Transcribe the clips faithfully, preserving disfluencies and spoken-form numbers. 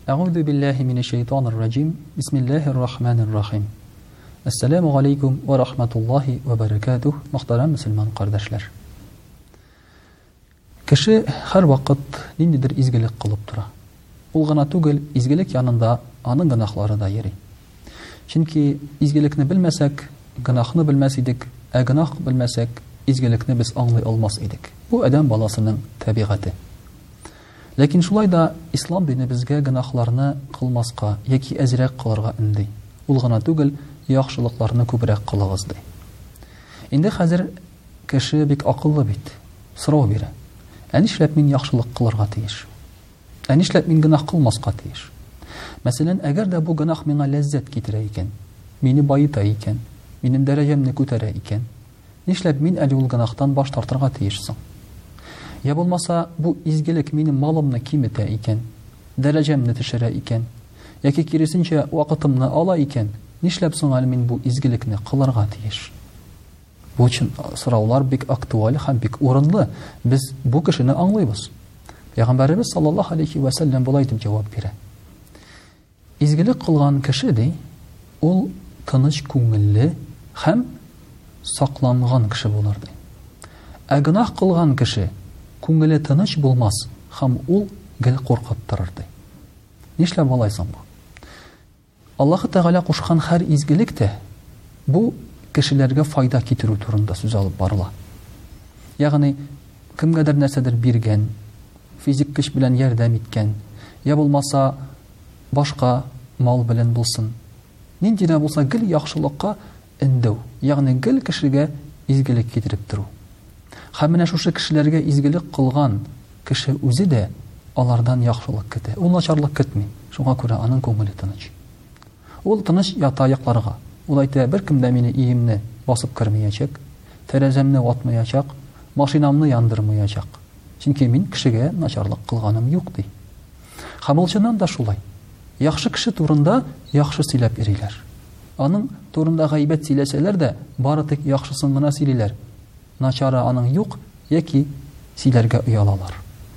А'удhu billahi minash shaytanir rajim. Bismillahir rahmanir rahim. Assalamu alaykum wa rahmatullohi wa barakatuh. Muhtaram musulmon qardoshlar. Кеше һәр вакыт ниндидер изгелек кылып тора. Ул гына түгел, изгелек янында аның гынахлары да йөри. Чөнки изгелекне белмәсәк, гынахны белмәс идек, ә гынах белмәсәк, изгелекне без аңлый алмас идек. Бу адам баласының табигате. Ләкин шулай да ислам дине безгә гынахларны кылмаска яки әзрәк кылырга инди. Ул гына түгел, яхшылыкларны күбрәк кылыгыз ди. Инде хәзер кеше бик акыллы бит. Сорау бирә. Ә нишләп мин яхшылык кылырга тиеш? Ә нишләп мин гынах кылмаска тиеш? Мәсәлән, әгәр дә бу гынах миңа ләззәт китерә икән, мине байыта икән, минем дәрәҗәмне күтәрә икән, нишләп мин әле ул гынахтан баш тартырга тиешсең? Я булмаса, бу изгелек минем малымны киметә икән, дәрәҗәмне төшерә икән, яки киресенчә вакытымны ала икән, нишләп соң әле мин бу изгелекне кылырга тиеш? Бу өчен сораулар бик актуаль һәм бик урынлы. Без бу кешене аңлыйбыз. Пәйгамбәрбез саллаллаһу алейхи ва саллям булай дип җавап бирә. Изгелек кылган кеше ди, ул тыныч күңелле һәм сакланган кеше булыр ди. Ә гынах кылган кеше күңеле тыныч булмас һәм ул гел куркып торыр ди. Нишләп болай соң бу? Аллаһ Тәгалә кушкан һәр изгелек тә бу кешеләргә файда китерү турында сүз алып барыла. Ягъни кемгәдер нәрсәдер биргән, физик көч белән ярдәм иткән, я булмаса башка мал белән булсын. Нинди дә булса гел яхшылыкка индәү, ягъни гел кешегә изгелек китереп тору. Һәм менә шушы кешеләргә изгелек кылган кеше үзе дә алардан яхшылык көтә. Ул начарлык көтми. Шуңа күрә аның күңеле тыныч. Ул тыныч ята якларга. Ул әйтә, бер кем дә мине иемне басып кырмаячак, тәрәзәмне ватмаячак, машинамны яндырмаячак. Чөнки мин кешегә начарлык кылганым юк ди. Һәм ул чыннан да шулай. Яхшы кеше турында яхшы сөйләп йөриләр. Аның турында гайбәт сөйләсәләр дә, бары тик яхшысын гына сөйлиләр. Начары аның юк, яки сөйләргә уялалар.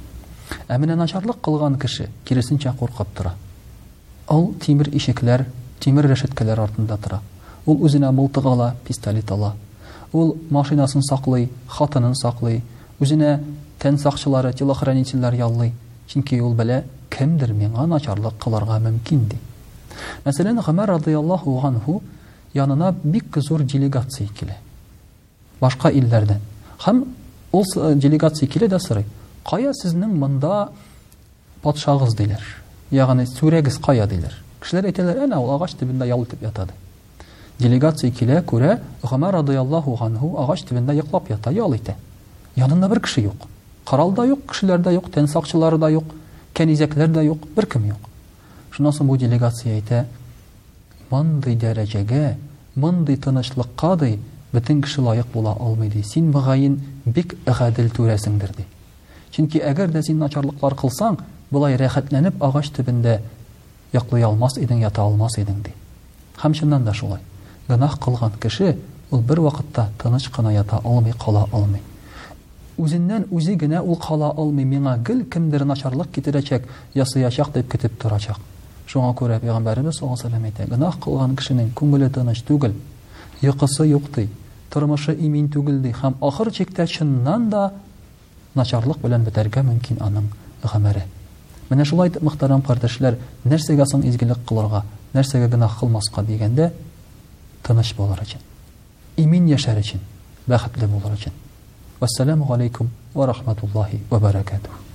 Ә менә начарлык кылган кеше киресенчә куркып тора. Ул тимер ишекләр, тимер рәшәткәләр артында тора. Ул үзенә мылтык ала, пистолет ала. Ул машинасын саклый, хатынын саклый, үзенә тән сакчылары, телохранительләр яллый. Чөнки ул белә, кемдер миңа начарлык кылырга мөмкин ди. Мәсәлән, Гомәр радиллаһу анһу янына бик зур делегация килә. Башка илләрдән. Һәм ул делегация килә дә сорый: "Кая сезнең монда патшагыз?" диләр. Ягъни сүрәгез кая диләр. Кешеләр әйтәләр, "Әнә ул агач төбендә ял итеп ята" ди. Делегация килә, күрә, Гомәр радиллаһу анһу агач төбендә йоклап ята, ял итә. Янында бер кеше юк. Корал да юк, кешеләр дә юк, тән сакчылары да юк, кәнизәкләр дә юк, бер кем юк. Шуннан соң бу делегация әйтә: "Мондый дәрәҗәгә, мондый тынычлыкка ди, бөтен кеше лаек була алмый ди. Син мөгаен бик гадел түрәсеңдер" ди. Чөнки әгәр дә син начарлыклар кылсаң, булай рәхәтләнеп агач төбендә яклый алмас идең, ята алмас идең ди. Һәм чыннан да шулай. Гынах кылган кеше ул бер вакытта тыныч кына ята алмый, кала алмый. Үзеннән үзе генә ул кала алмый, миңа гел кемдер начарлык китерәчәк, ясыячак дип көтеп торачак. Шуңа күрә Пәйгамбәрбез саллаллаһу алейһи ва сәллям әйтә: "Гынах кылган кешенең күңеле тыныч түгел, йокысы юк ди, тормышы имин түгел ди, һәм ахыр чиктә чыннан да начарлык белән бетәргә мөмкин аның гомере." Менә шулай дип, мөхтәрәм кардәшләр, нәрсәгә соң изгелек кылырга, нәрсәгә гынах кылмаска дигәндә, тыныч булыр өчен, имин яшәр өчен, бәхетле булыр өчен. Вассаламу алейкум ва рахматуллаһи ва баракатуһ.